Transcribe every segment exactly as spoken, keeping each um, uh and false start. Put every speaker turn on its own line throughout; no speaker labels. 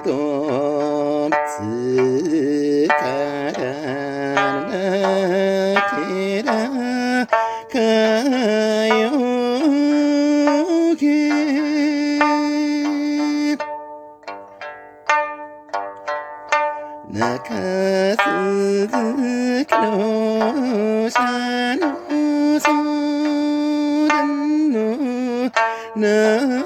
ごつからなけらかよけ中鈴木の車の相談のな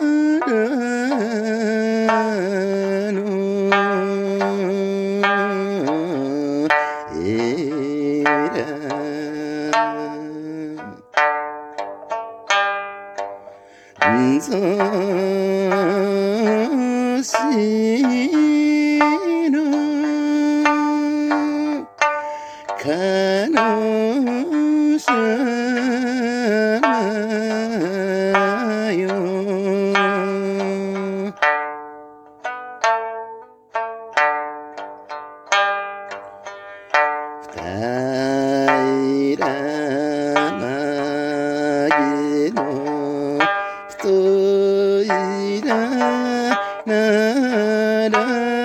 ぞしの彼女よ平間の太いなら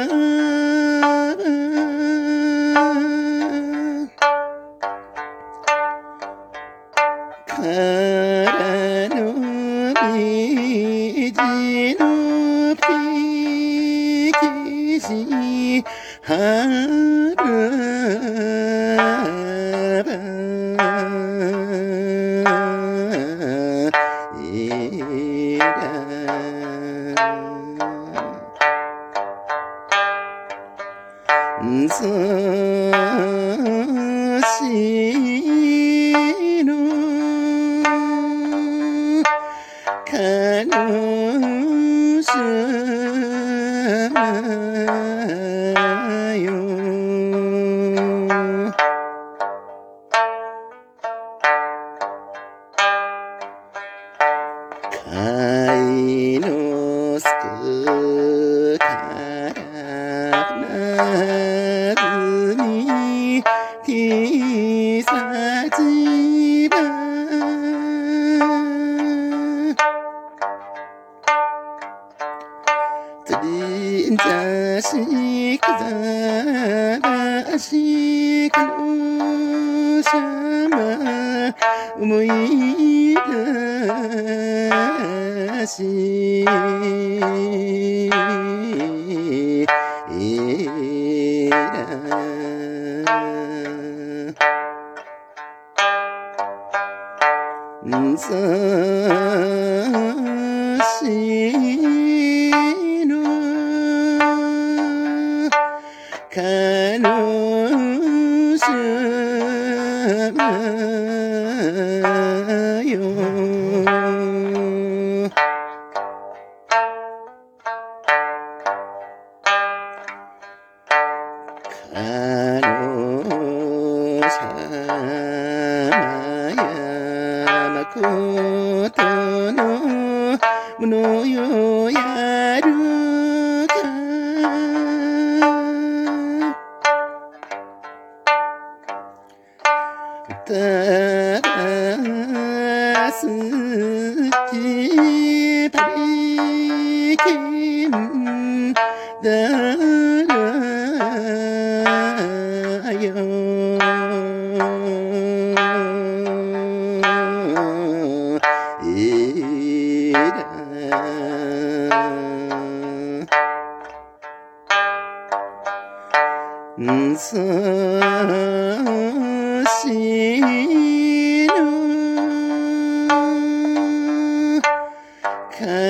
からの虹のピキシ春ぞしの彼女よ貝のすくからなずにきさちばとりんざしかざらしかのしゃま思い出しえらぞしの彼女よ彼女やまことのものよやるかただすきぱりきんだよえらぞしの彼